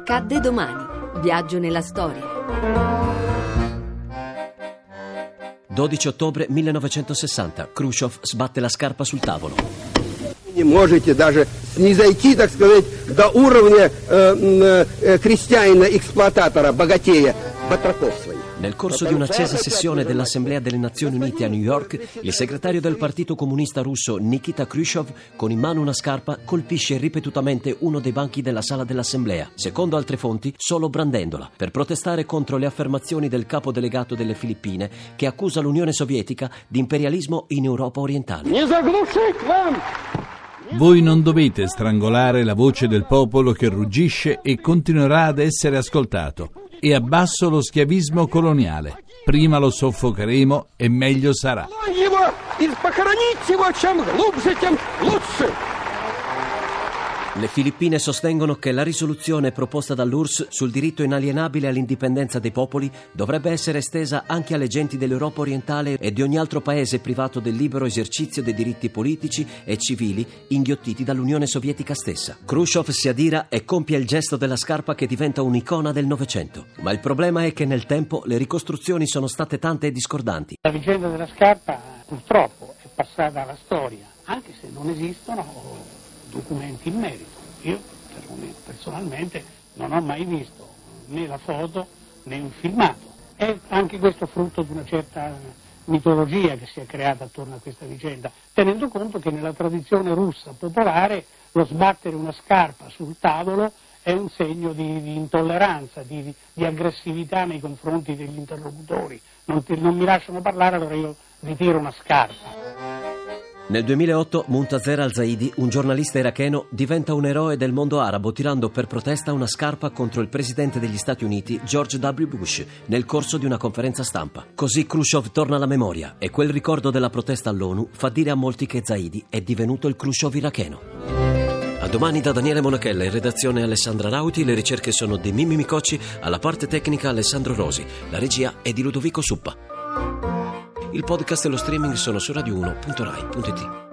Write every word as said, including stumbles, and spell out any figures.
Accadde domani. Viaggio nella storia. dodici ottobre millenovecentosessanta. Khrushchev sbatte la scarpa sul tavolo. Не можете даже снизойти, так сказать, до уровня э, э, крестьянина-эксплуататора, богатея, батраков своих. Nel corso di un'accesa sessione dell'Assemblea delle Nazioni Unite a New York, il segretario del Partito Comunista Russo Nikita Khrushchev, con in mano una scarpa, colpisce ripetutamente uno dei banchi della sala dell'Assemblea, secondo altre fonti solo brandendola, per protestare contro le affermazioni del capo delegato delle Filippine, che accusa l'Unione Sovietica di imperialismo in Europa orientale. Voi non dovete strangolare la voce del popolo che ruggisce e continuerà ad essere ascoltato. E abbasso lo schiavismo coloniale. Prima lo soffocheremo e meglio sarà. Le Filippine sostengono che la risoluzione proposta dall'U R S S sul diritto inalienabile all'indipendenza dei popoli dovrebbe essere estesa anche alle genti dell'Europa orientale e di ogni altro paese privato del libero esercizio dei diritti politici e civili inghiottiti dall'Unione Sovietica stessa. Khrushchev si adira e compie il gesto della scarpa che diventa un'icona del Novecento. Ma il problema è che nel tempo le ricostruzioni sono state tante e discordanti. La vicenda della scarpa purtroppo è passata alla storia, anche se non esistono documenti in merito. Io personalmente non ho mai visto né la foto né un filmato. È anche questo frutto di una certa mitologia che si è creata attorno a questa vicenda, tenendo conto che nella tradizione russa popolare lo sbattere una scarpa sul tavolo è un segno di, di intolleranza, di, di aggressività nei confronti degli interlocutori. Non, ti, non mi lasciano parlare, allora io ritiro una scarpa. Nel duemilaotto Muntazer al-Zaidi, un giornalista iracheno, diventa un eroe del mondo arabo tirando per protesta una scarpa contro il presidente degli Stati Uniti, George W. Bush, nel corso di una conferenza stampa. Così Khrushchev torna alla memoria e quel ricordo della protesta all'ONU fa dire a molti che Zaidi è divenuto il Khrushchev iracheno. A domani da Daniele Monachella, in redazione Alessandra Rauti, le ricerche sono di Mimmi Micocci, alla parte tecnica Alessandro Rosi, la regia è di Ludovico Suppa. Il podcast e lo streaming sono su radio uno punto rai punto it.